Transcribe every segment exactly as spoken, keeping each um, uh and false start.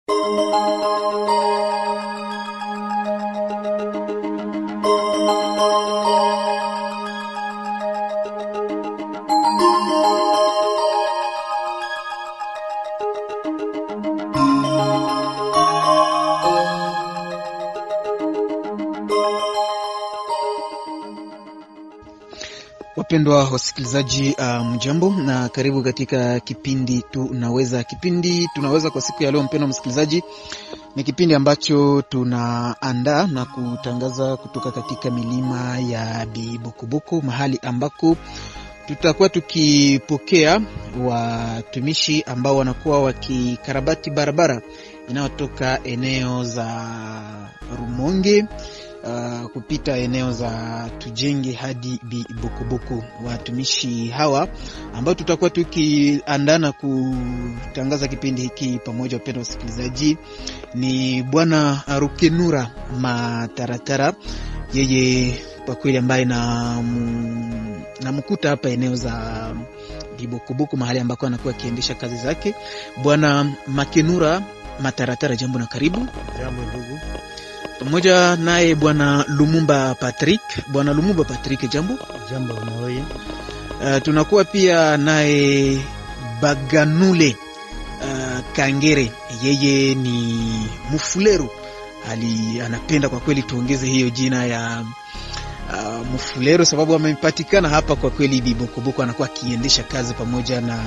Wapendwa wasikilizaji, uh, mjambo na karibu katika kipindi tunaweza. Kipindi tunaweza kwa siku ya leo, mpendwa msikilizaji, ni kipindi ambacho tunaandaa na kutangaza kutoka katika milima ya Bibokoboku, mahali ambako tutakuwa tukipokea watumishi ambao wanakuwa wakikarabati barabara inayotoka eneo za Rumonge Uh, kupita eneo za Tujenge hadi Bibokoboku. Watumishi hawa ambao tutakuwa tukiandana kutangaza kipindi hiki pamoja, wapendwa wasikilizaji, ni Bwana Rukenura Mataratara. Yeye kwa kweli ambaye na namkuta hapa eneo za Bibokoboku, mahali ambako anakuwa akiendesha kazi zake. Bwana Makenura Mataratara, jambo na karibu. Jambo ndugu. Pamoja naye Bwana Lumumba Patrick. Bwana Lumumba Patrick, jambo. Jambo nawe. Uh, tunakuwa pia naye Baganule uh, Kangere. Yeye ni Mufulero. Ali anapenda kwa kweli tuongeze hiyo jina ya uh, Mufulero sababu amepatikana hapa kwa kweli Bibokoboku, anakuwa akiendesha kazi pamoja na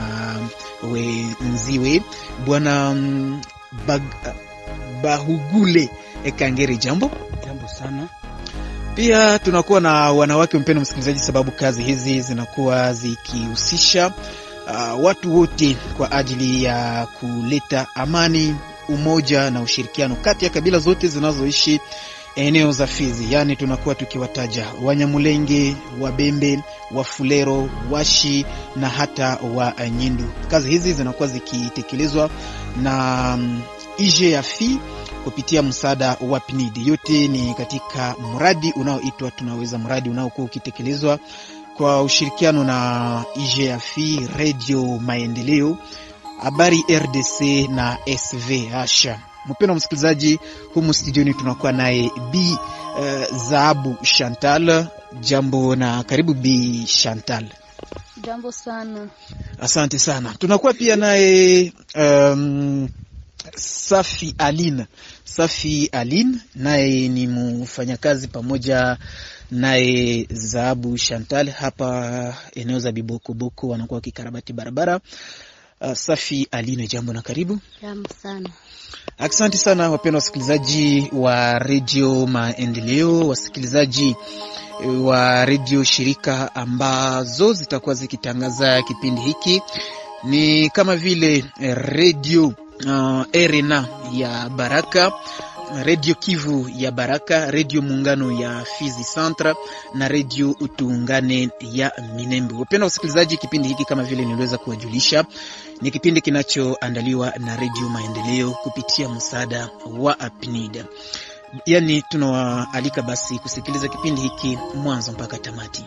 wenziwe. Bwana um, Bag, uh, Bahugule Kangere, jambo. Jambo sana. Pia tunakuwa na wanawake, mpendwa msikilizaji, sababu kazi hizi zinakuwa zikihusisha uh, watu wote kwa ajili ya kuleta amani, umoja na ushirikiano kati ya kabila zote zinazoishi eneo za Fizi. Yani tunakuwa tukiwataja Wanyamulenge, Wabembe, Wafulero, Washi na hata Wanyindu. Kazi hizi zinakuwa zikitekelezwa na um, I G A F I kupitia msaada wa P N I D. Yote ni katika mradi unaoitwa Tunaweza, mradi unaokuwa ukitekelezwa kwa ushirikiano na I G A F I, Radio Maendeleo, Habari R D C na S V H. Mpendwa msikilizaji, humu studioni tunakuwa naye Bi uh, Zahabu Chantal. Jambo na karibu Bi Chantal. Jambo sana. Asante sana. Tunakuwa pia naye um, Safi Aline. Safi Aline naye ni mfanyakazi pamoja naye Zahabu Chantal hapa eneo za Bibokoboku, wanakuwa kikarabati barabara. Uh, Safi Aline, jambo na karibu. Jambo sana. Asante sana wapendwa wasikilizaji wa Radio Maendeleo, wasikilizaji wa radio shirika ambazo zitakuwa zikitangaza kipindi hiki, ni kama vile Radio Uh, Erena ya Baraka, Radio Kivu ya Baraka, Radio Muungano ya Fizi Centre na Radio Utuungane ya Minembe. Wapendwa wasikilizaji, kipindi hiki kama vile niliweza kuwajulisha ni kipindi kinachoandaliwa na Radio Maendeleo kupitia msaada wa P N I D. Yani tunawaalika basi kusikiliza kipindi hiki mwanzo mpaka tamati.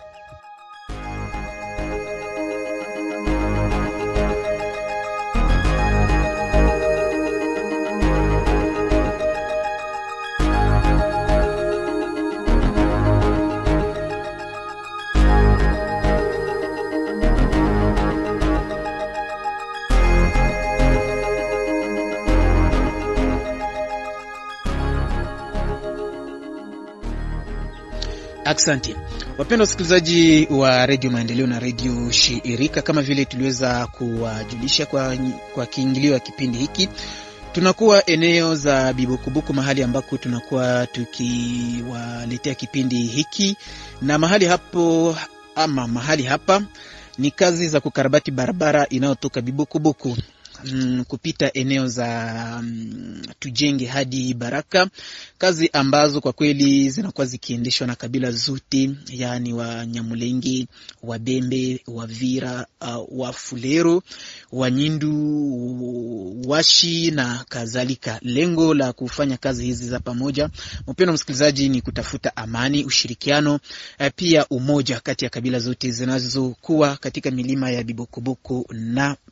Asante. Wapendwa wasikilizaji wa Radio Maendeleo na Radio Shirika, kama vile tuliweza kuwajulisha kwa kwa kiingilio ya kipindi hiki, tunakuwa eneo za Bibokoboku, mahali ambako tunakuwa tukiwaletea kipindi hiki, na mahali hapo ama mahali hapa ni kazi za kukarabati barabara inayotoka Bibokoboku Mm, kupita eneo za um, Tujenge hadi Baraka, kazi ambazo kwa kweli zinakuwa zikiendeshwa na kabila zote, yani wa Nyamulenge, wa Bembe, wa Vira, uh, wa Fulero, wa Nyindu, Washi na kadhalika. Lengo la kufanya kazi hizi za pamoja, mpendwa msikilizaji, ni kutafuta amani, ushirikiano, uh, pia umoja kati ya kabila zote zinazokuwa katika milima ya Bibokoboku na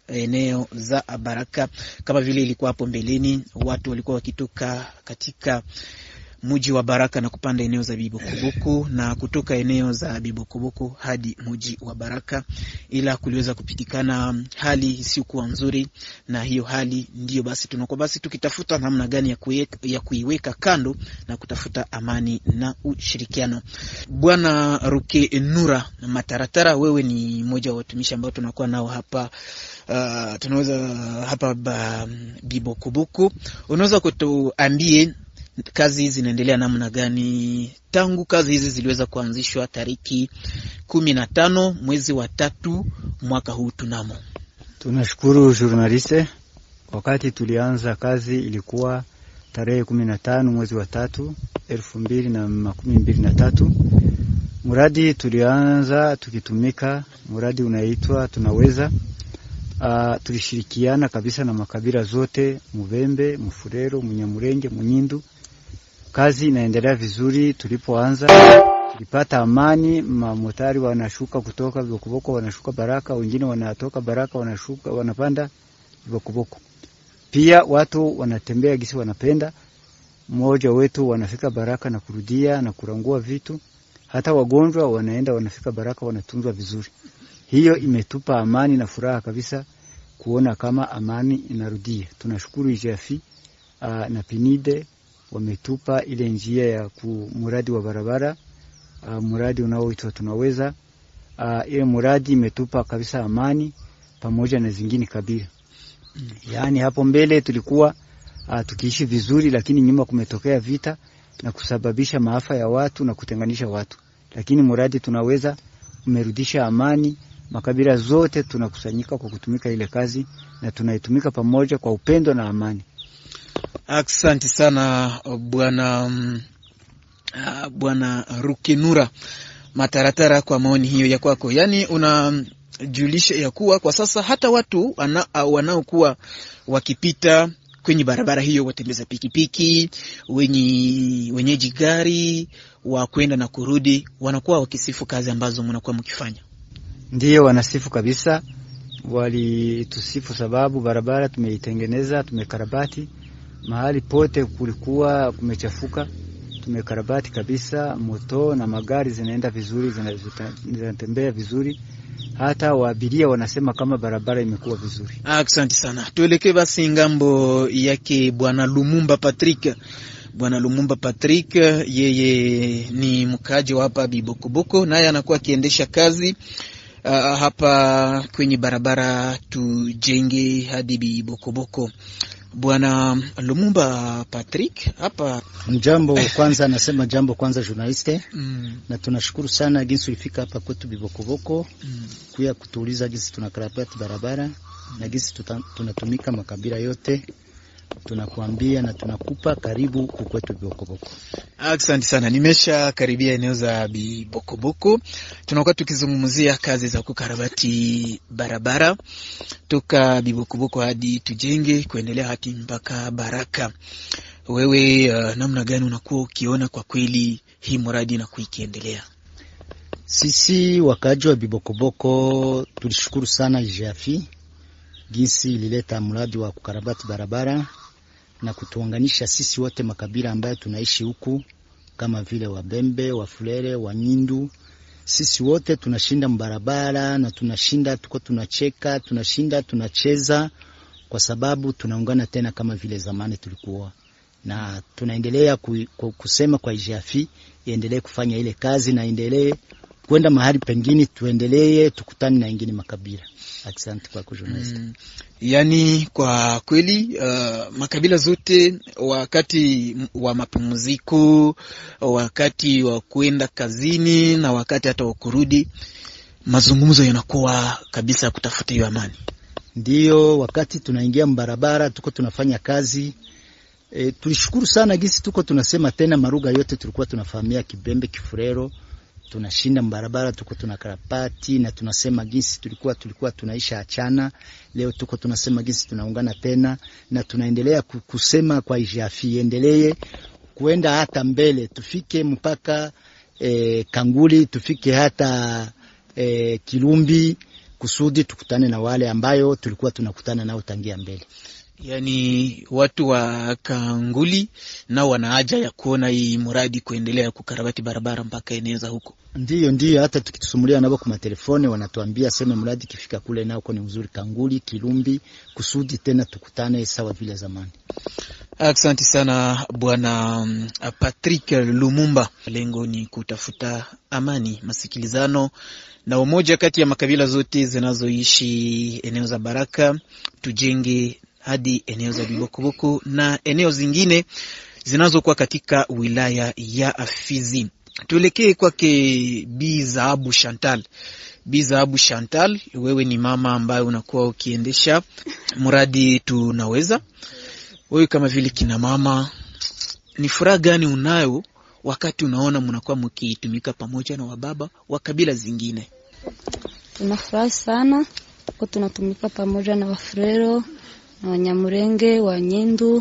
eneo za Baraka. Kama vile ilikuwa hapo mbeleni, watu walikuwa wakitoka katika mji wa Baraka na kupanda eneo za Bibokoboku na kutoka eneo za Bibokoboku hadi mji wa Baraka, ila kuliweza kupitikana hali isiyokuwa nzuri, na hiyo hali ndiyo basi tunakuwa basi tukitafuta namna gani ya kuiweka, ya kuiweka kando na kutafuta amani na ushirikiano. Bwana Rukenura Mataratara, wewe ni mmoja wa watumishi ambao tunakuwa nao hapa uh, tunaweza hapa ba, Bibokoboku. Unaweza kutuambie kazi hizi zinaendelea namna gani tangu kazi hizi ziliweza kuanzishwa tariki kumi na tano mwezi wa tatu mwaka huu tunamo? Tunashukuru journaliste. Wakati tulianza kazi ilikuwa tarehe kumi na tano mwezi wa tatu elfu mbili na makumi mbili na tatu. Muradi tulianza tukitumika, muradi unaitwa Tunaweza. Uh, tulishirikiana kabisa na makabila zote, Mubembe, Mufurero, Munyamurenge, Munyindu. Kazi inaendelea vizuri. Tulipoanza tulipata amani, mamotari wanashuka kutoka Bibokoboko wanashuka Baraka, wengine wanatoka Baraka wanashuka wanapanda Bibokoboko. Pia watu wanatembea gisi wanapenda. Mmoja wetu wanafika Baraka na kurudia na kurangua vitu. Hata wagonjwa wanaenda wanafika Baraka wanatunzwa vizuri. Hiyo imetupa amani na furaha kabisa kuona kama amani inarudia. Tunashukuru I G F uh, na Pinide wametupa ile njia ya kumuradi wa barabara, uh, muradi unaoitwa Tunaweza. Uh, ile muradi imetupa kabisa amani pamoja na zingine kabila. Mm. Yaani hapo mbele tulikuwa uh, tukiishi vizuri, lakini nyuma kumetokea vita na kusababisha maafa ya watu na kutenganisha watu. Lakini muradi Tunaweza umerudisha amani. Makabila zote tunakusanyika kwa kutumika ile kazi na tunaitumika pamoja kwa upendo na amani. Asante sana bwana uh, bwana Rukenura Mataratara kwa maoni hiyo ya kwako. Yaani unajulisha ya kuwa kwa sasa hata watu wanaokuwa wakipita kwenye barabara hiyo, watembeza pikipiki, wenye wenyeji gari wa kwenda na kurudi, wanakuwa wakisifu kazi ambazo mnakuwa mkifanya. Ndiyo, wanasifu kabisa. Wali tusifu sababu barabara tumeitengeneza, tumekarabati. Mahali pote kulikuwa kumechafuka, tumekarabati kabisa. Moto na magari zinaenda vizuri, zinatembea vizuri. Hata waabiria wanasema kama barabara imekuwa vizuri. Asante sana. Tuelekee basi ngambo yake bwana Lumumba Patrick. Bwana Lumumba Patrick, yeye ni mkaji wa hapa Bibokoboko, naye anakuwa akiendesha kazi Uh, hapa kwenye barabara Tujenge hadi Bibokoboko. Bwana Lumumba Patrick, hapa mjambo kwanza, nasema jambo kwanza journaliste. Mm. Na tunashukuru sana jinsi ulifika hapa kwetu Bibokoboko. Mm. Kuya kutuuliza jinsi tunakarabati barabara na jinsi tunatumika makabila yote. Tunakuambia na tunakupa karibu kwetu Bibokoboko. Asante sana. Nimesha karibia eneo za Bibokoboko. Tunakuwa tukizungumzia kazi za kukarabati barabara toka Bibokoboko hadi Tujenge kuendelea hadi mpaka Baraka. Wewe uh, namna gani unakuwa ukiona kwa kweli hii mradi na kuikiendelea? Sisi wakaji wa Bibokoboko tulishukuru sana I G F jinsi ilileta mradi wa kukarabati barabara na kutuunganisha sisi wote makabila ambayo tunaishi huku, kama vile Wabembe, Wafulere, Wanyindu. Sisi wote tunashinda mbarabara na tunashinda, tuko tunacheka, tunashinda, tunacheza kwa sababu tunaungana tena kama vile zamani tulikuwa. Na tunaendelea ku, ku, kusema kwa I G F iendelee kufanya ile kazi na endelee kwenda mahali pengine, tuendelee tukutane na wengine makabila. Asante kwa kujournalist. Mm, yani kwa kweli uh, makabila zote wakati wa mapumziko, wakati wa kwenda kazini na wakati hata wa kurudi, mazungumzo yanakuwa kabisa kutafuta hiyo amani. Ndio, wakati tunaingia mbarabara tuko tunafanya kazi. E, tulishukuru sana gisi tuko tunasema tena maruga yote tulikuwa tunafahamia Kibembe, Kifurero. Tunashinda mbarabara, tuko tunakarabati na tunasema gisi tulikuwa tulikuwa tunaisha achana. Leo tuko tunasema gisi tunaungana tena na tunaendelea kusema kwa I G F endelee kuenda hata mbele, tufike mpaka e, Kanguli, tufike hata e, Kilumbi kusudi tukutane na wale ambayo tulikuwa tunakutana nao tangia mbele. Yani watu wa Kanguli nao wana haja ya kuona hii mradi kuendelea kukarabati barabara mpaka eneo za huko. Ndiyo ndiyo, hata tukitusumulia nabo kwa telefoni wanatuambia sema mradi kifika kule nao kwa ni mzuri, Kanguli, Kilumbi, kusudi tena tukutane sawa vile zamani. Asante sana bwana Patrick Lumumba. Lengo ni kutafuta amani, masikilizano na umoja kati ya makabila zote zinazoishi eneo za Baraka, tujenge hadi eneo za Bibokoboko na eneo zingine zinazokuwa katika wilaya ya Fizi. Tuelekee kwake Bi Zahabu Chantal. Bi Zahabu Chantal, wewe ni mama ambaye unakuwa ukiendesha mradi tunaweza. Wewe kama vile kina mama, ni furaha gani unayo wakati unaona mnakuwa mkitumika pamoja na wababa wa kabila zingine? Tunafurahi sana kwa tunatumika pamoja na Wafrero na Wanyamurenge, Wanyendu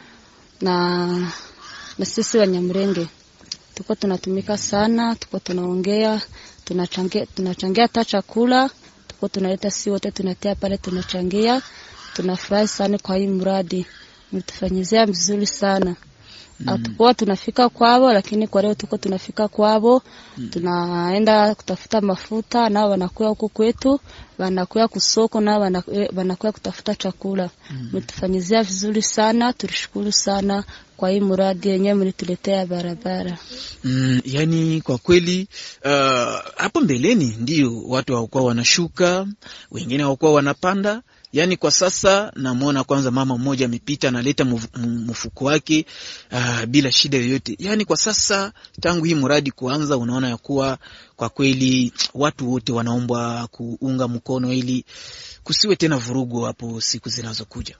na na sisi Wanyamurenge. Tuko tunatumika sana, tuko tunaongea, tunachangia tunachangia hata chakula, tuko tunaleta si wote tunatia pale tunachangia. Tunafurahi sana kwa hii mradi. Mtufanyizia vizuri sana. Mm. Atakuwa tunafika kwao, lakini kwa leo tuko tunafika kwao. Mm. Tunaenda kutafuta mafuta na wanakuwa huko kwetu, wanakuwa kusoko na wanakuwa kutafuta chakula. Mm. Mtufanyizia vizuri sana, tulishukuru sana kwa hii mradi yenyewe mlituletea barabara. Mm, yani kwa kweli uh, hapo mbeleni ndio watu hawakuwa wanashuka, wengine hawakuwa wanapanda. Yani kwa sasa namuona kwanza mama mmoja amepita analeta mfuko wake uh, bila shida yoyote. Yani kwa sasa tangu hii mradi kuanza unaona ya kuwa kwa kweli watu wote wanaomba kuunga mkono ili kusiwe tena vurugu hapo siku zinazokuja.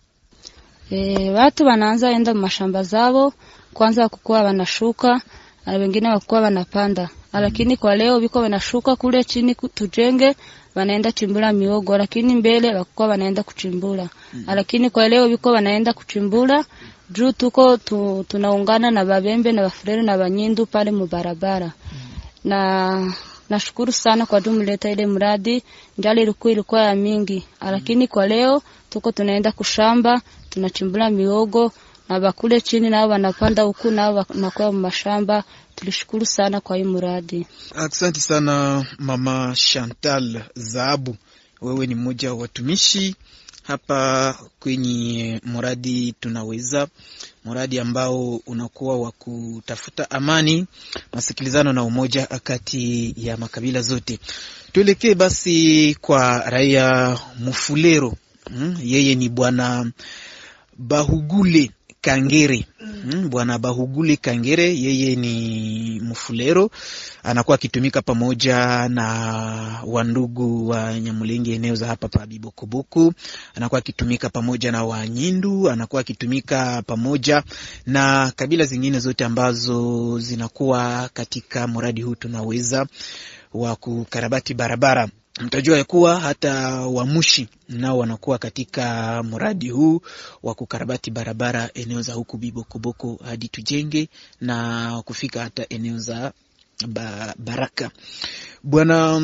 E, watu wanaanza enda mashamba zao kwanza kukua wanashuka na wengine wakua wanapanda. Lakini kwa leo biko wanashuka kule chini tujenge, wanaenda chimbula miogo, lakini mbele wakua wanaenda kuchimbula. Mm. Lakini kwa leo biko wanaenda kuchimbula, juu tuko tu, tunaungana na Babembe na Bafrere na Banyindu pale mubarabara. Mm. Na nashukuru sana kwa dumuleta ile mradi, njali ilikuwa ilikuwa ya mingi. Lakini kwa leo tuko tunaenda kushamba, tunachimbula miogo na bakule chini na wanapanda huku na wanakuwa mashamba. Tulishukuru sana kwa hii mradi. Asante sana mama Chantal Zahabu. Wewe ni mmoja wa watumishi hapa kwenye mradi tunaweza, mradi ambao unakuwa wa kutafuta amani, masikilizano na umoja kati ya makabila zote. Tuelekee basi kwa raia Mufulero. Hmm, yeye ni bwana Bahugule Kangere. Hmm, bwana Bahugule Kangere yeye ni Mufulero, anakuwa akitumika pamoja na wandugu wa Nyamulenge eneo za hapa pa Bibokoboko, anakuwa akitumika pamoja na Wanyindu, anakuwa akitumika pamoja na kabila zingine zote ambazo zinakuwa katika mradi huu tunaweza wa kukarabati barabara. Mtajua ya kuwa hata Wamushi nao wanakuwa katika mradi huu wa kukarabati barabara eneo za huku Bibokoboko hadi tujenge na kufika hata eneo za ba, Baraka. Bwana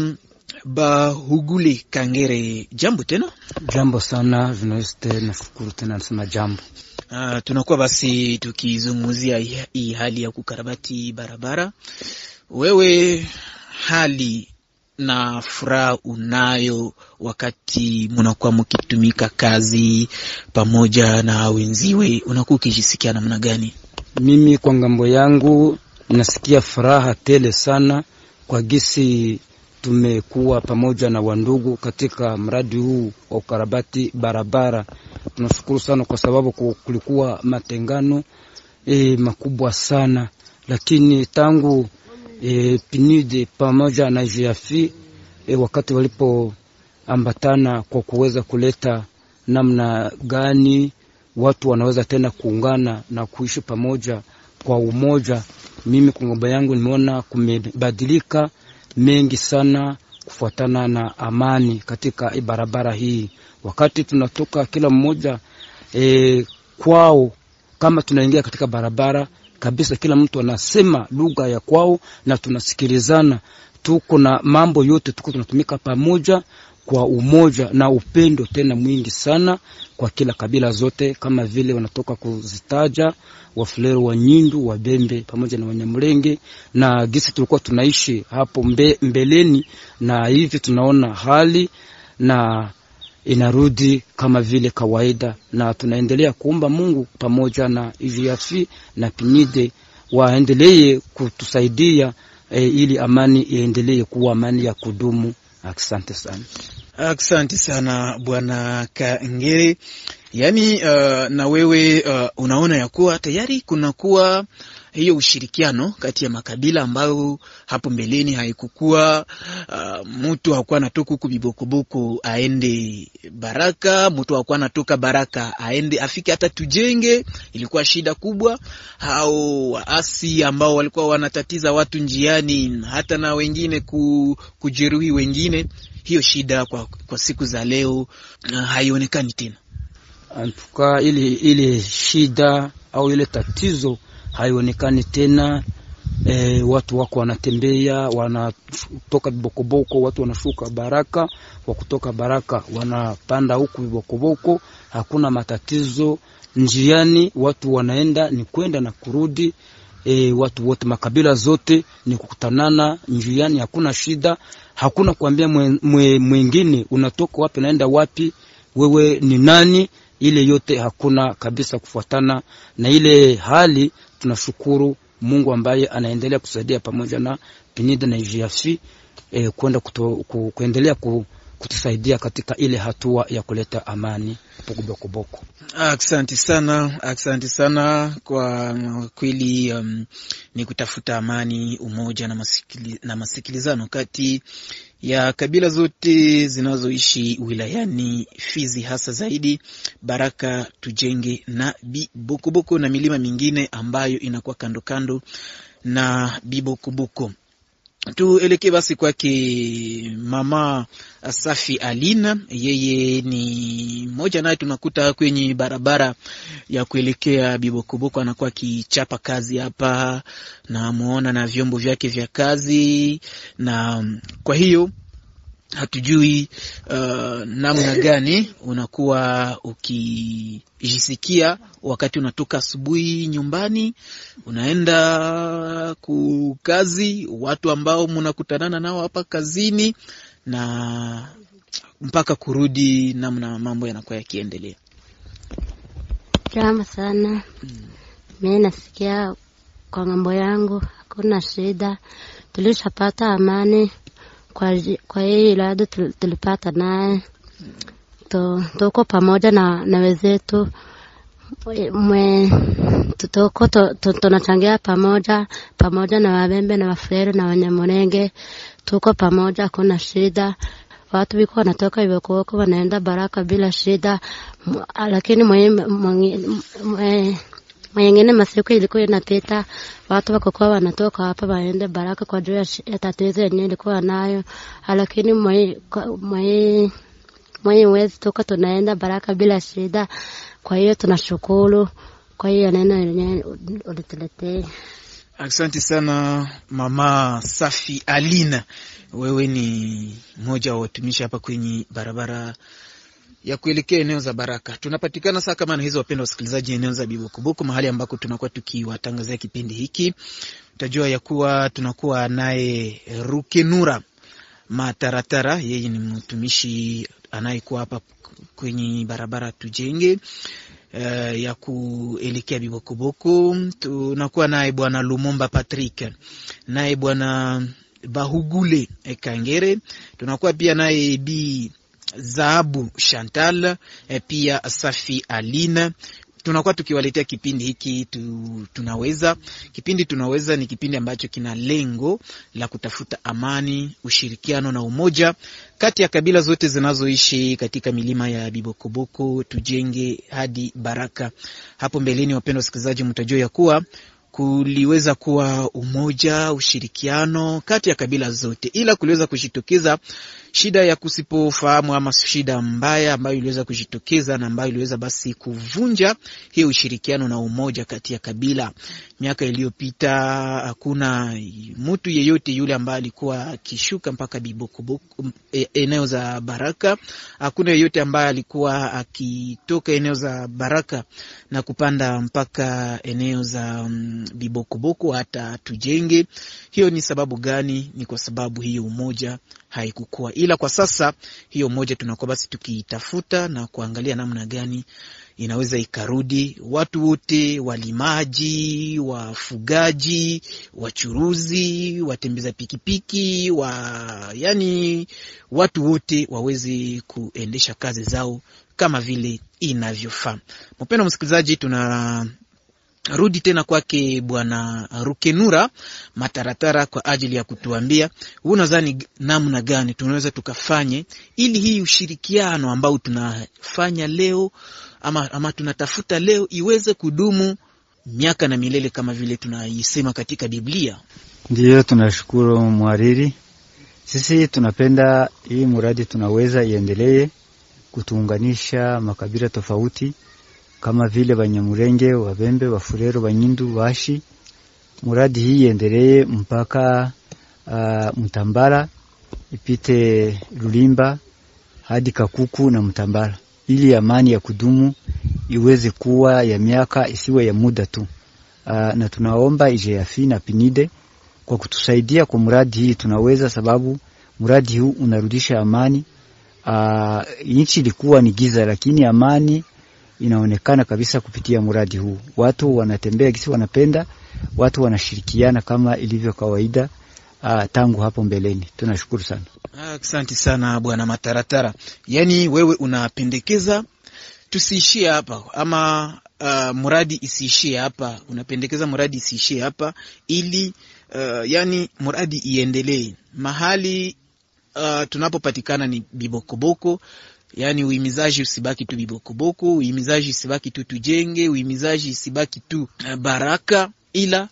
Bahugule Kangere, jambo tena? Jambo sana journaliste, nashukuru tena nasema jambo. Uh, tunakuwa basi tukizungumzia hii hali ya kukarabati barabara. Wewe hali na furaha unayo wakati mnakuwa mkitumika kazi pamoja na wenziwe, unakuwa ukijisikia namna gani? Mimi kwa ngambo yangu nasikia furaha tele sana kwa gisi tumekuwa pamoja na wandugu katika mradi huu wa ukarabati barabara. Tunashukuru sana kwa sababu kulikuwa matengano e, makubwa sana, lakini tangu E, P N U D pamoja na G F I e, wakati walipo ambatana kwa kuweza kuleta namna gani watu wanaweza tena kuungana na kuishi pamoja kwa umoja, mimi kwa ngomba yangu nimeona kumebadilika mengi sana kufuatana na amani katika barabara hii. Wakati tunatoka kila mmoja e, kwao, kama tunaingia katika barabara kabisa kila mtu anasema lugha ya kwao na tunasikilizana, tuko na mambo yote tuko tunatumika pamoja, kwa umoja na upendo tena mwingi sana kwa kila kabila zote, kama vile wanatoka kuzitaja Wafulero, Wanyindu, Wabembe pamoja na Wanyamulenge, na gisi tulikuwa tunaishi hapo mbe, mbeleni, na hivi tunaona hali na inarudi kama vile kawaida, na tunaendelea kuomba Mungu pamoja na I G F na P N I D waendelee kutusaidia e, ili amani iendelee kuwa amani ya kudumu. Asante sana. Asante sana Bwana Kangere. Yaani uh, na wewe uh, unaona ya kuwa tayari kuna kuwa hiyo ushirikiano kati ya makabila ambao hapo mbeleni haikukua. Uh, mtu hakuwa anatoka huku Bibokoboko aende Baraka, mtu hakuwa anatoka Baraka aende afike hata Tujenge, ilikuwa shida kubwa. Hao waasi ambao walikuwa wanatatiza watu njiani, hata na wengine ku, kujeruhi wengine, hiyo shida kwa, kwa siku za leo uh, haionekani tena. Antuka ile ile shida au ile tatizo haionekani tena. E, watu wako wanatembea, wanatoka Bibokoboko, watu wanashuka Baraka, wa kutoka Baraka wanapanda huku Bibokoboko, hakuna matatizo njiani, watu wanaenda ni kwenda na kurudi. E, watu wote makabila zote ni kukutanana njiani, hakuna shida, hakuna kuambia mwingine mwe, unatoka wapi naenda wapi, wewe ni nani. Ile yote hakuna kabisa kufuatana na ile hali. Tunashukuru Mungu ambaye anaendelea kusaidia pamoja na P N I D na I G F eh, kwenda ku, kuendelea ku, kutusaidia katika ile hatua ya kuleta amani Bibokoboko. Asante sana, asante sana kwa kweli. Um, ni kutafuta amani, umoja na, masikili, na masikilizano kati ya kabila zote zinazoishi wilayani Fizi, hasa zaidi Baraka, Tujenge na Bibokoboko na milima mingine ambayo inakuwa kando kando na Bibokoboko. Tuelekee basi kwake Mama Safi Alina. Yeye ni moja naye tunakuta kwenye barabara ya kuelekea Bibokoboko, anakuwa akichapa kazi hapa na muona na vyombo vyake vya kazi, na kwa hiyo hatujui uh, namna gani unakuwa ukijisikia wakati unatoka asubuhi nyumbani unaenda kukazi, watu ambao mnakutanana nao hapa kazini, na mpaka kurudi, namna mambo yanakuwa yakiendelea. Jama sana. Mimi nasikia kwa ngambo yangu hakuna shida, tulishapata amani kwa kwa hii lado tulipata naye. To tuko pamoja na na wenzetu, mwe tutoko tunachangia pamoja pamoja na Wabembe na Wafulero na Wanyamulenge, tuko pamoja, kuna shida. Watu wiko wanatoka Bibokoboko wanaenda Baraka bila shida, lakini mwe mwe mwengine masiku ilikuwa inapita watu wako kwa wanatoka hapa waende Baraka kwa juu ya tatizo yenyewe ilikuwa nayo, lakini mwe mwe mwe wezi toka tunaenda Baraka bila shida. Kwa hiyo tunashukuru kwa hiyo neno yenyewe ulituletea. Asante sana Mama Safi Alina. Wewe ni mmoja wa watumishi hapa kwenye barabara ya kuelekea eneo za Baraka. Tunapatikana saa kama na hizo, wapendwa wasikilizaji, eneo za Bibokoboko, mahali ambako tunakuwa tukiwatangazia kipindi hiki. Utajua ya kuwa tunakuwa naye Rukenura Mataratara, yeye ni mtumishi anayekuwa hapa kwenye barabara Tujenge uh, ya kuelekea Bibokoboko. Tunakuwa naye Bwana Lumumba Patrick, naye Bwana Bahugule Kangere, tunakuwa pia naye Bi Zahabu Chantal, e pia Safi Alina. Tunakuwa tukiwaletea kipindi hiki tu, tunaweza. Kipindi tunaweza ni kipindi ambacho kina lengo la kutafuta amani, ushirikiano na umoja kati ya kabila zote zinazoishi katika milima ya Bibokoboko, Tujenge hadi Baraka. Hapo mbeleni, wapendwa wasikilizaji, mtajua ya kuwa kuliweza kuwa umoja, ushirikiano kati ya kabila zote, ila kuliweza kushitokeza shida ya kusipofahamu ama shida mbaya ambayo iliweza kujitokeza na ambayo iliweza basi kuvunja hiyo ushirikiano na umoja kati ya kabila. Miaka iliyopita hakuna mtu yeyote yule ambaye alikuwa akishuka mpaka Bibokoboko, eneo za Baraka. Hakuna yeyote ambaye alikuwa akitoka eneo za Baraka na kupanda mpaka eneo za um, Bibokoboko hata Tujenge. Hiyo ni sababu gani? Ni kwa sababu hiyo umoja haikukua. Ila kwa sasa hiyo umoja tunakuwa basi tukiitafuta na kuangalia namna gani inaweza ikarudi. Watu wote, walimaji, wafugaji, wachuruzi, watembeza pikipiki, wa yani watu wote waweze kuendesha kazi zao kama vile inavyofaa. Mpendwa msikilizaji, tuna rudi tena kwake Bwana Rukenura Mataratara kwa ajili ya kutuambia unadhani namna gani tunaweza tukafanye ili hii ushirikiano ambao tunafanya leo ama, ama tunatafuta leo iweze kudumu miaka na milele kama vile tunaisema katika Biblia. Ndiyo, tunashukuru mwariri. Sisi tunapenda hii muradi tunaweza iendelee kutuunganisha makabila tofauti kama vile Banyamurenge, Wabembe, Wafurero, Banyindu, Washi. Muradi hii iendelee mpaka uh, Mtambala, ipite Lulimba hadi Kakuku na Mtambala, ili amani ya kudumu iweze kuwa ya miaka, isiwe ya muda tu. Uh, na tunaomba I G F na Pinide kwa kutusaidia kwa muradi hii tunaweza, sababu muradi huu unarudisha amani. Uh, nchi ilikuwa ni giza, lakini amani inaonekana kabisa kupitia muradi huu. Watu wanatembea kisi wanapenda, watu wanashirikiana kama ilivyo kawaida uh, tangu hapo mbeleni. Tunashukuru sana. Asante sana Bwana Mataratara. Yani wewe unapendekeza tusiishie hapa ama uh, muradi isiishie hapa. Unapendekeza muradi isiishie hapa ili uh, yani muradi iendelee. Mahali uh, tunapopatikana ni Bibokoboko. Yani uimizaji usibaki tu Bibokoboko, uimizaji usibaki tu Tujenge, uimizaji usibaki tu Baraka, ila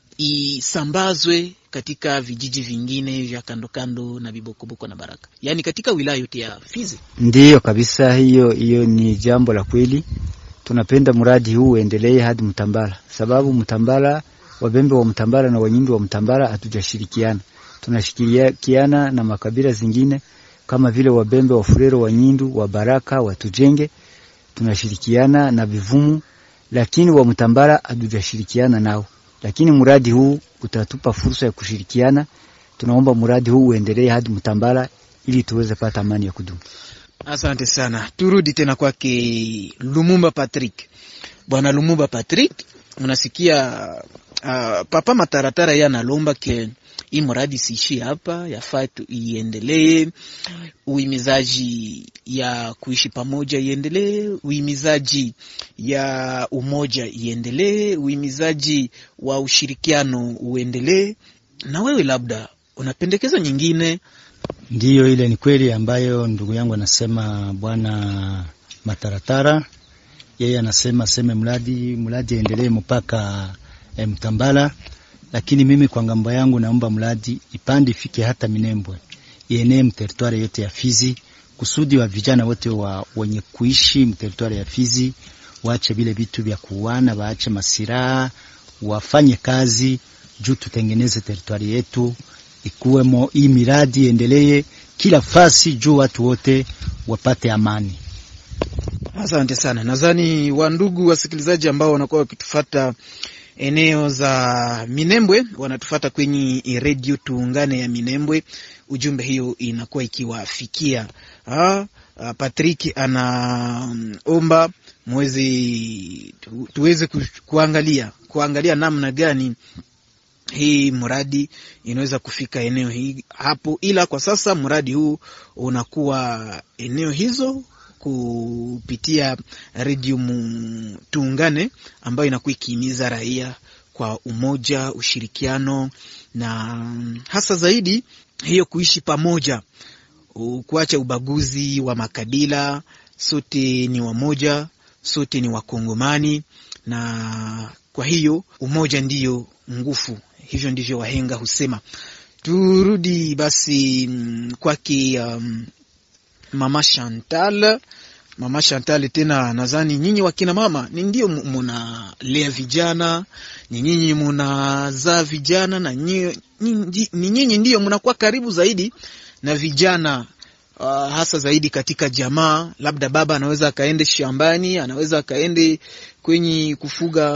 isambazwe katika vijiji vingine vya kando kando na Bibokoboko na Baraka. Yani katika wilaya yote ya Fizi. Ndiyo kabisa, hiyo hiyo ni jambo la kweli. Tunapenda muradi huu uendelee hadi Mtambala, sababu Mtambala, Wabembe wa Mtambala na Wanyindu wa Mtambala hatujashirikiana. Tunashirikiana na makabila zingine kama vile Wabembe, Wafurero, Wanyindu, wa Baraka, wa Tujenge. Tunashirikiana na Bivumu, lakini wa Mtambala hatujashirikiana nao. Lakini muradi huu utatupa fursa ya kushirikiana. Tunaomba muradi huu uendelee hadi Mtambala ili tuweze pata amani ya kudumu. Asante sana. Turudi tena kwake Lumumba Patrick. Bwana Lumumba Patrick, unasikia uh, Papa Mataratara yeye analomba ke hii muradi siishi hapa, yafaa iendelee. Uimizaji ya kuishi pamoja iendelee, uimizaji ya umoja iendelee, uimizaji wa ushirikiano uendelee. Na wewe labda unapendekeza nyingine? Ndiyo, ile ni kweli ambayo ndugu yangu anasema Bwana Mataratara. Yeye anasema seme mradi mradi endelee mpaka eh, Mtambala. Lakini mimi kwa ngambo yangu naomba mradi ipande ifike hata Minembwe, ienee mteritwari yote ya Fizi, kusudi wa vijana wote wa wenye kuishi mteritwari ya Fizi waache vile vitu vya kuwana, waache masiraha, wafanye kazi juu tutengeneze teritwari yetu ikuwemo. Hii miradi endelee kila fasi juu watu wote wapate amani. Asante sana. Nadhani wandugu wasikilizaji ambao wanakuwa wakitufuata eneo za Minembwe wanatufuata kwenye radio Tuungane ya Minembwe, ujumbe hiyo inakuwa ikiwafikia. Ah, Patrick anaomba mwezi tu, tuweze kuangalia kuangalia namna gani hii muradi inaweza kufika eneo hii hapo, ila kwa sasa muradi huu unakuwa eneo hizo kupitia radio Tuungane ambayo inakuwa ikihimiza raia kwa umoja, ushirikiano na hasa zaidi hiyo kuishi pamoja, kuacha ubaguzi wa makabila. Sote ni wamoja, sote ni Wakongomani, na kwa hiyo umoja ndiyo nguvu. Hivyo ndivyo wahenga husema. Turudi basi kwake um, Mama Chantal. Mama Chantal, tena nadhani nyinyi wakina mama ni ndio mnalea vijana, ni nyinyi mnazaa vijana, na nyinyi ni nyinyi ndio mnakuwa karibu zaidi na vijana, uh, hasa zaidi katika jamaa. Labda baba anaweza akaende shambani, anaweza akaende kwenye kufuga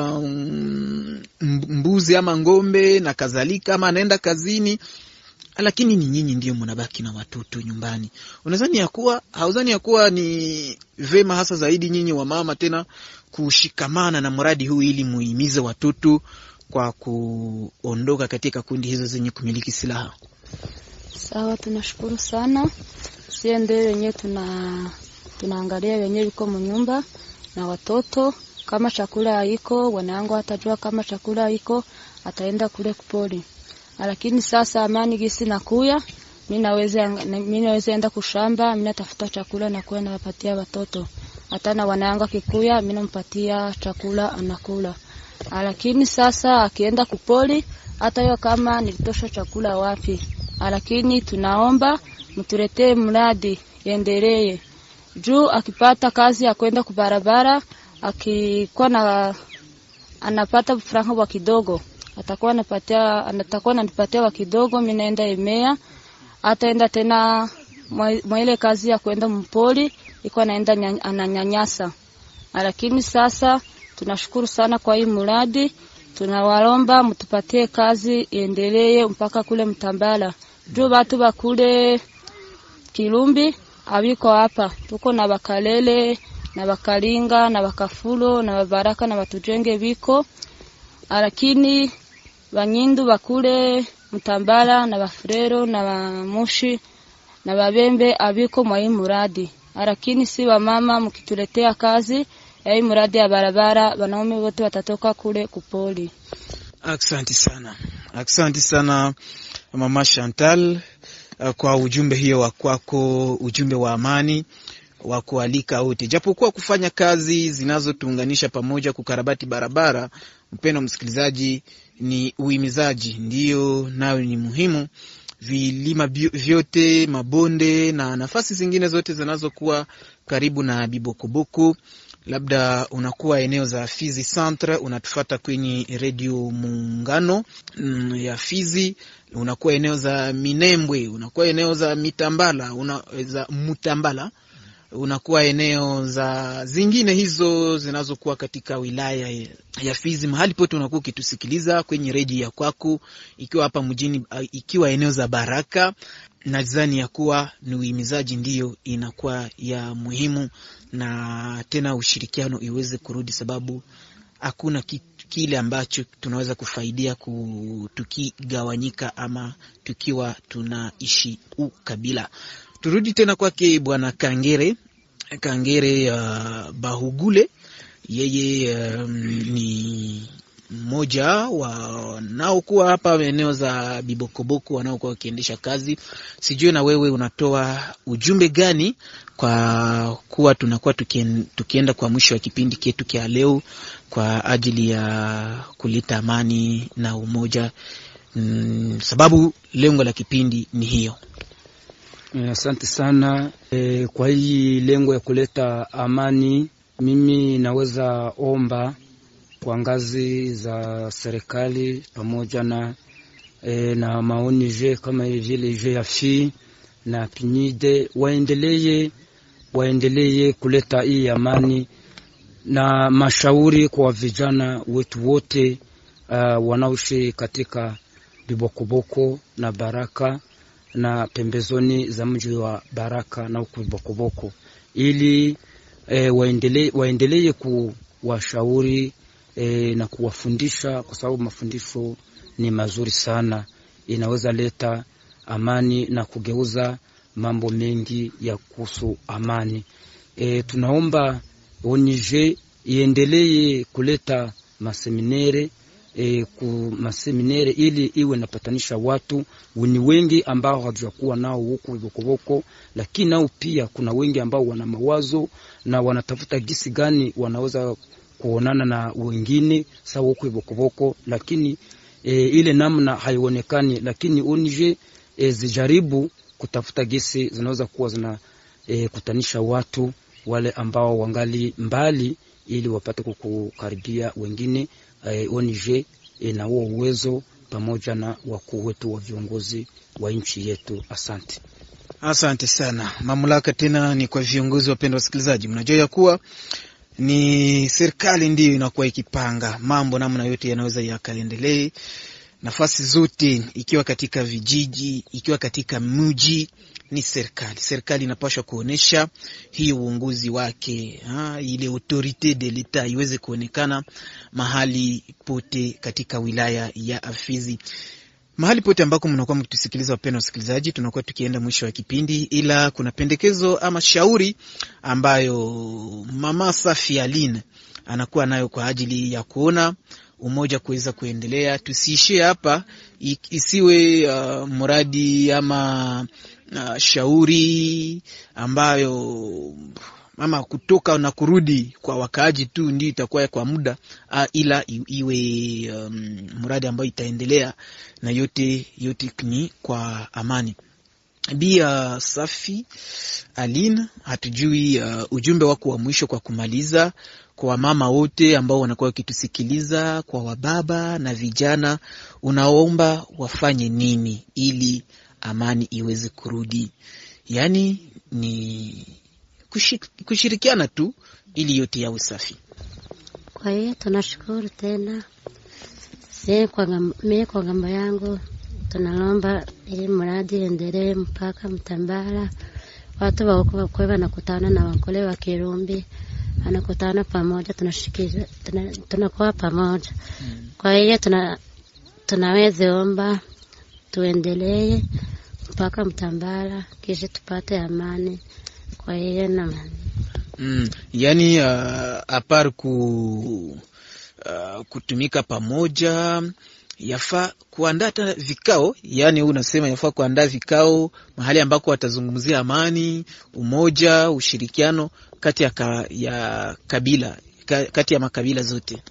um, mbuzi ama ngombe na kadhalika, ama anaenda kazini, lakini ni nyinyi ndio mnabaki na watoto nyumbani. Unadhani ya kuwa hauzani ya kuwa ni vema hasa zaidi nyinyi wa mama tena kushikamana na mradi huu ili muhimize watoto kwa kuondoka katika kundi hizo zenye kumiliki silaha? Sawa, tunashukuru sana. Sie ndio wenyewe tuna tunaangalia wenyewe yuko mnyumba na watoto. Kama chakula haiko, wanangu atajua kama chakula haiko, ataenda kule kupoli. Lakini sasa amani gisi nakuya, mimi naweza mimi naweza enda kushamba, mimi natafuta chakula na kwenda napatia watoto. Hata na wanangu kikuya, mimi nampatia chakula anakula. Lakini sasa akienda kupoli, hata hiyo kama nilitosha chakula wapi. Lakini tunaomba mtuletee mradi endelee. Juu akipata kazi ya kwenda kubarabara, akikuwa na anapata franga wa kidogo, atakuwa anapatia anatakuwa ananipatia wa kidogo, mimi naenda emea, ataenda tena mwa ile kazi ya kwenda mpoli, iko naenda ananyanyasa. Lakini sasa tunashukuru sana kwa hii mradi, tunawaomba mtupatie kazi iendelee mpaka kule Mtambala. Juu watu bakule Kilumbi abiko hapa, tuko na Bakalele na Bakalinga na Bakafulo na Baraka na Batujenge biko, lakini Banyindu bakule Mtambala na Bafrero na Bamushi na Babembe abiko mwa hii muradi. Lakini si wa mama mkituletea kazi ya hii muradi ya barabara, wanaume wote watatoka kule kupoli. Asante sana. Asante sana Mama Chantal kwa ujumbe hiyo wa kwako, ujumbe wa amani wa kualika wote. Japokuwa kufanya kazi zinazotuunganisha pamoja kukarabati barabara, mpendwa msikilizaji, ni uhimizaji, ndio nayo ni muhimu. Vilima vyote, mabonde na nafasi zingine zote zinazokuwa karibu na Bibokoboko, labda unakuwa eneo za Fizi Centre, unatufuata kwenye Radio Muungano mm, ya Fizi, unakuwa eneo za Minembwe, unakuwa eneo za Mitambala, una, za Mutambala, unakuwa eneo za zingine hizo zinazokuwa katika wilaya ya Fizi. Mahali pote unakuwa ukitusikiliza kwenye redio ya kwako, ikiwa hapa mjini, ikiwa eneo za Baraka, nadhani ya kuwa ni uhimizaji ndio inakuwa ya muhimu, na tena ushirikiano iweze kurudi, sababu hakuna kile ambacho tunaweza kufaidia tukigawanyika ama tukiwa tunaishi ukabila. Turudi tena kwake Bwana Kangere. Kangere uh, Bahugule, yeye um, ni mmoja wanaokuwa hapa eneo za Bibokoboko wanaokuwa wakiendesha kazi. Sijui na wewe unatoa ujumbe gani kwa kuwa tunakuwa tukien, tukienda kwa mwisho wa kipindi chetu kia leo kwa ajili ya kuleta amani na umoja, mm, sababu lengo la kipindi ni hiyo. Asante sana. E, kwa hii lengo ya kuleta amani, mimi naweza omba kwa ngazi za serikali pamoja na e, na maoni je kama vile je afi na pinide waendelee waendelee kuleta hii amani, na mashauri kwa vijana wetu wote uh, wanaoishi katika Bibokoboko na Baraka na pembezoni za mji wa Baraka na huko Bibokoboko, ili e, waendelee waendelee kuwashauri e, na kuwafundisha, kwa sababu mafundisho ni mazuri sana, inaweza leta amani na kugeuza mambo mengi ya kuhusu amani. E, tunaomba onije iendelee kuleta maseminere E, ku maseminere ili iwe napatanisha watu wini wengi ambao hawajakuwa nao huko Bibokoboko, lakini nao pia kuna wengi ambao wana mawazo na wanatafuta gisi gani wanaweza kuonana na wengine sawa huko Bibokoboko, lakini e, ile namna haionekani, lakini O N G e, zijaribu kutafuta gesi zinaweza kuwa zina e, kutanisha watu wale ambao wangali mbali ili wapate kukaribia wengine. e, O N G e, na huo uwezo pamoja na wakuu wetu wa viongozi wa nchi yetu. Asante. Asante sana. Mamlaka tena ni kwa viongozi. Wapendwa wasikilizaji, mnajua ya kuwa ni serikali ndiyo inakuwa ikipanga mambo namna yote yanaweza yakaendelee, nafasi zote, ikiwa katika vijiji, ikiwa katika mji, ni serikali. Serikali inapaswa kuonesha hii uongozi wake, ha, ile autorite de l'etat iweze kuonekana mahali pote katika wilaya ya Fizi. Mahali pote ambako mnakuwa mkitusikiliza, wapendwa wasikilizaji, tunakuwa tukienda mwisho wa kipindi, ila kuna pendekezo ama shauri ambayo Mama Safi Aline anakuwa nayo kwa ajili ya kuona umoja kuweza kuendelea. Tusiishie hapa, isiwe uh, muradi ama uh, shauri ambayo mama kutoka na kurudi kwa wakaaji tu ndio itakuwa kwa muda, uh, ila iwe um, muradi ambayo itaendelea na yote yote ni kwa amani. Bia Safi Aline, hatujui uh, ujumbe wako wa mwisho kwa kumaliza, kwa mama wote ambao wanakuwa wakitusikiliza, kwa wababa na vijana, unaomba wafanye nini ili amani iweze kurudi? Yani ni kushirikiana tu ili yote yawe safi. Kwa hiyo tunashukuru tena. Sisi kwa mimi kwa ngambo yangu tunalomba ili mradi endelee mpaka Mtambala. Watu wa kwa wanakutana na wakole wa Kirumbi, wanakutana pamoja, tunashikiza tunakuwa pamoja. Hmm. Kwa hiyo tuna tunaweza omba tuendelee mpaka Mtambala kisha tupate amani. Kwa hiyo na mm, yani uh, apar ku uh, kutumika pamoja, yafaa kuandaa vikao. Yani unasema yafaa kuandaa vikao mahali ambako watazungumzia amani, umoja, ushirikiano kati ya, ka, ya kabila ka, kati ya makabila zote.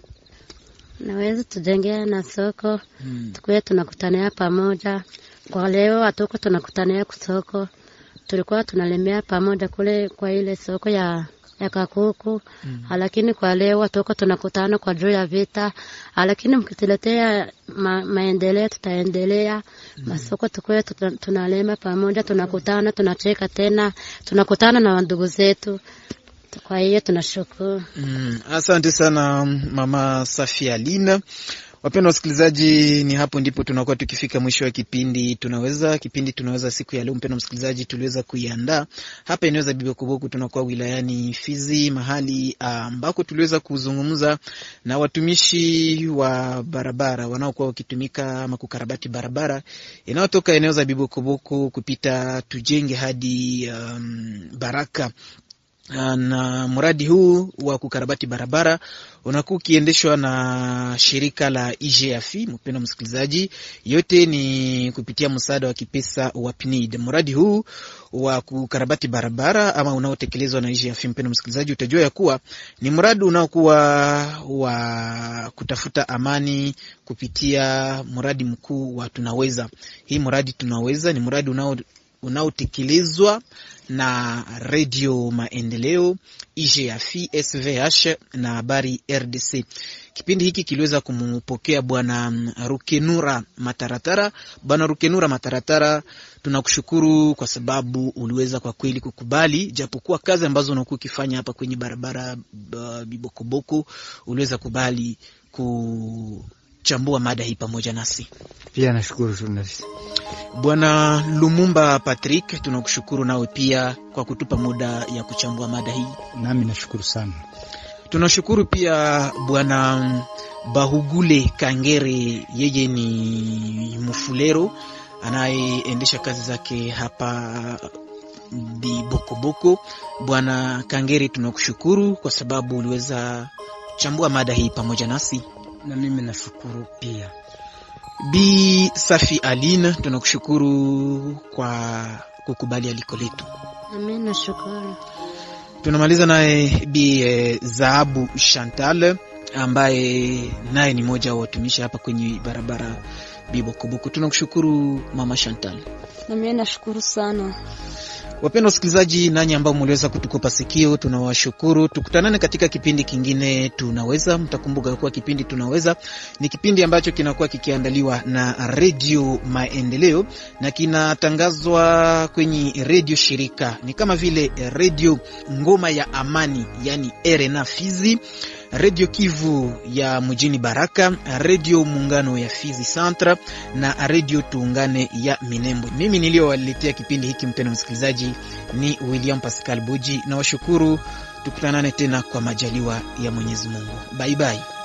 Naweza tujengea na soko, hmm. Tukue tunakutania pamoja. Kwa leo hatuko tunakutania kusoko, tulikuwa tunalemea pamoja kule kwa ile soko ya ya Kakuku. Mm. Lakini kwa leo tuko tunakutana kwa juu ya vita, lakini mkituletea ma, maendeleo tutaendelea. Mm. Masoko tukue tunalema pamoja, tunakutana, tunacheka tena, tunakutana na ndugu zetu. Kwa hiyo tunashukuru. Mm. Asante sana Mama Safi Aline. Wapendwa wasikilizaji, ni hapo ndipo tunakuwa tukifika mwisho wa kipindi tunaweza kipindi tunaweza siku ya leo. Mpendwa msikilizaji, tuliweza kuiandaa hapa eneo Bibo Koboko, tunakuwa wilayani Fizi, mahali ambako tuliweza kuzungumza na watumishi wa barabara wanaokuwa wakitumika ama kukarabati barabara inayotoka eneo za Bibo Koboko kupita Tujenge hadi um, Baraka. Na mradi huu wa kukarabati barabara unakuwa ukiendeshwa na shirika la I G F. Mpendwa msikilizaji, yote ni kupitia msaada wa kipesa wa P N I D. Mradi huu wa kukarabati barabara ama unaotekelezwa na I G F, mpendwa msikilizaji, utajua ya kuwa ni mradi unaokuwa wa kutafuta amani kupitia mradi mkuu wa Tunaweza. Hii mradi Tunaweza ni mradi unao unaotekelezwa na Radio Maendeleo, I G F, S V H na Habari R D C. Kipindi hiki kiliweza kumpokea Bwana Rukenura Mataratara. Bwana Rukenura Mataratara, tunakushukuru kwa sababu uliweza kwa kweli kukubali, japokuwa kazi ambazo unakuwa ukifanya hapa kwenye barabara uh, Bibokoboko, uliweza kubali kuchambua mada hii pamoja nasi. Pia nashukuru journalist. Bwana Lumumba Patrick, tunakushukuru nawe pia kwa kutupa muda ya kuchambua mada hii. Nami nashukuru sana. Tunashukuru pia Bwana Bahugule Kangere, yeye ni mfulero anayeendesha kazi zake hapa Bibokoboko. Bwana Kangere, tunakushukuru kwa sababu uliweza kuchambua mada hii pamoja nasi. Na mimi nashukuru pia. Bi Safi Aline, tunakushukuru kwa kukubali aliko letu. Amen, nashukuru. Tunamaliza naye Bi eh, Zahabu Chantal, ambaye naye ni moja wa watumishi hapa kwenye barabara Bibokoboko. Tunakushukuru Mama Chantal. Na mimi nashukuru sana. Wapendwa wasikilizaji, nanyi ambao mliweza kutukopa sikio, tunawashukuru. Tukutanane katika kipindi kingine Tunaweza. Mtakumbuka kwa kipindi Tunaweza ni kipindi ambacho kinakuwa kikiandaliwa na Radio Maendeleo na kinatangazwa kwenye radio shirika. Ni kama vile Radio Ngoma ya Amani, yani R N A Fizi, Radio Kivu ya mjini Baraka, Radio Muungano ya Fizi Centre na Radio Tuungane ya Minembwe. Mimi niliowaletea kipindi hiki mpendwa msikilizaji ni William Pascal Buji, na washukuru. Tukutanane tena kwa majaliwa ya Mwenyezi Mungu. Bye bye.